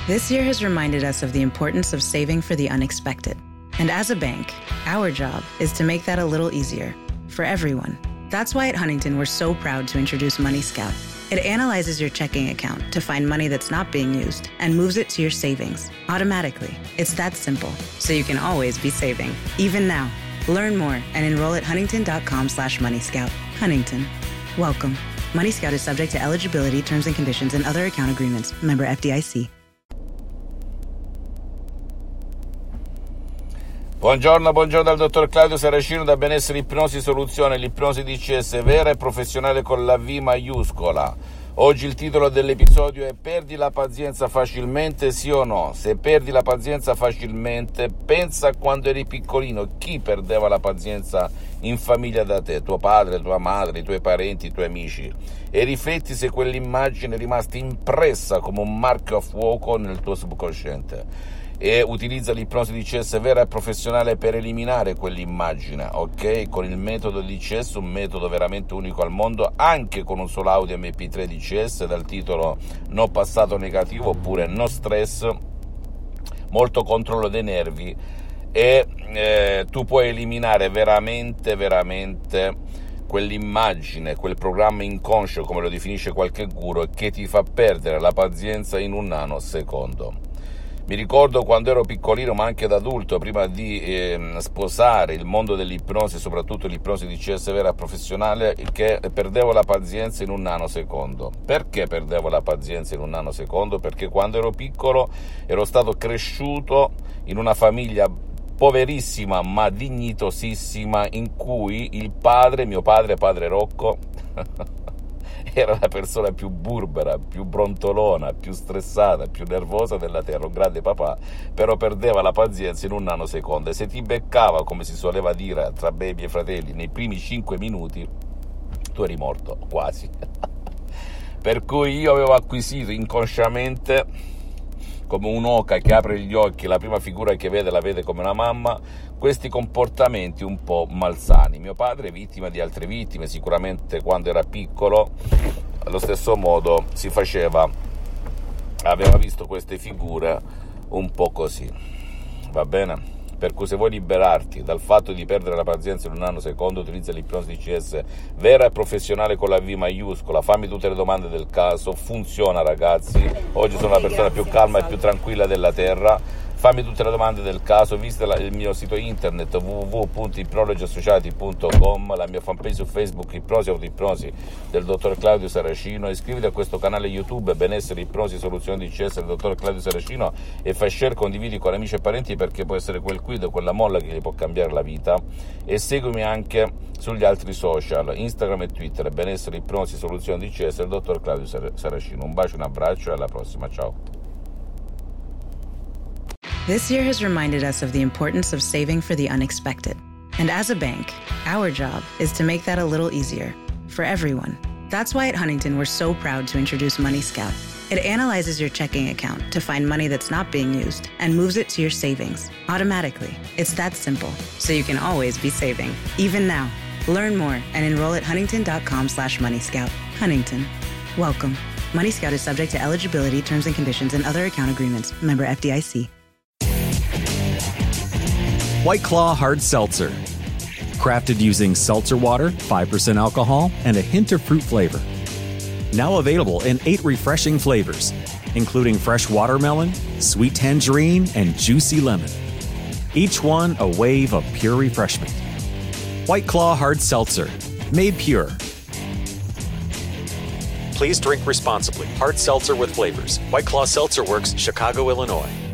This year has reminded us of the importance of saving for the unexpected. And as a bank, our job is to make that a little easier for everyone. That's why at Huntington, we're so proud to introduce Money Scout. It analyzes your checking account to find money that's not being used and moves it to your savings automatically. It's that simple, so you can always be saving, even now. Learn more and enroll at huntington.com/moneyscout. Huntington. Welcome. Money Scout is subject to eligibility, terms and conditions, and other account agreements. Member FDIC. Buongiorno dal dottor Claudio Saracino da Benessere Ipnosi Soluzione, l'ipnosi DCS vera e professionale con la V maiuscola. Oggi il titolo dell'episodio è: perdi la pazienza facilmente, sì o no? Se perdi la pazienza facilmente, pensa a quando eri piccolino, chi perdeva la pazienza in famiglia da te, tuo padre, tua madre, i tuoi parenti, i tuoi amici, e rifletti se quell'immagine è rimasta impressa come un marchio a fuoco nel tuo subconsciente. E utilizza l'ipnosi DCS vera e professionale per eliminare quell'immagine, ok? Con il metodo DCS, un metodo veramente unico al mondo, anche con un solo audio MP3 DCS dal titolo No passato negativo oppure No stress, molto controllo dei nervi, e tu puoi eliminare veramente quell'immagine, quel programma inconscio, come lo definisce qualche guru, che ti fa perdere la pazienza in un nanosecondo. Mi ricordo quando ero piccolino, ma anche da adulto, prima di sposare il mondo dell'ipnosi, soprattutto l'ipnosi DCS vera professionale, che perdevo la pazienza in un nanosecondo. Perché perdevo la pazienza in un nanosecondo? Perché quando ero piccolo ero stato cresciuto in una famiglia poverissima ma dignitosissima, in cui il padre, mio padre Rocco, era la persona più burbera, più brontolona, più stressata, più nervosa della terra, un grande papà, però perdeva la pazienza in un nanosecondo, e se ti beccava, come si soleva dire tra baby e fratelli, nei primi 5 minuti, tu eri morto, quasi. Per cui io avevo acquisito inconsciamente, come un'oca che apre gli occhi, la prima figura che vede la vede come una mamma, questi comportamenti un po' malsani. Mio padre, vittima di altre vittime, sicuramente quando era piccolo, allo stesso modo si faceva, aveva visto queste figure un po' così, va bene? Per cui se vuoi liberarti dal fatto di perdere la pazienza in un nanosecondo, utilizza l'ipnosi DCS vera e professionale con la V maiuscola. Fammi tutte le domande del caso, funziona ragazzi, oggi sono la persona più calma e più tranquilla della terra. Fammi tutte le domande del caso, visita il mio sito internet www.ipnologiassociati.com, la mia fanpage su Facebook Ipnosi Autoipnosi del dottor Claudio Saracino, iscriviti a questo canale YouTube Benessere Ipnosi Soluzioni DCS del dottor Claudio Saracino e fai share, condividi con amici e parenti, perché può essere quel quid, quella molla che gli può cambiare la vita. E seguimi anche sugli altri social, Instagram e Twitter, Benessere Ipnosi Soluzioni DCS del dottor Claudio Saracino. Un bacio, un abbraccio e alla prossima, ciao. This year has reminded us of the importance of saving for the unexpected. And as a bank, our job is to make that a little easier for everyone. That's why at Huntington, we're so proud to introduce Money Scout. It analyzes your checking account to find money that's not being used and moves it to your savings automatically. It's that simple, so you can always be saving, even now. Learn more and enroll at huntington.com/moneyscout. Huntington. Welcome. Money Scout is subject to eligibility, terms and conditions, and other account agreements. Member FDIC. White Claw Hard Seltzer. Crafted using seltzer water, 5% alcohol, and a hint of fruit flavor. Now available in 8 refreshing flavors, including fresh watermelon, sweet tangerine, and juicy lemon. Each one a wave of pure refreshment. White Claw Hard Seltzer. Made pure. Please drink responsibly. Hard seltzer with flavors. White Claw Seltzer Works, Chicago, Illinois.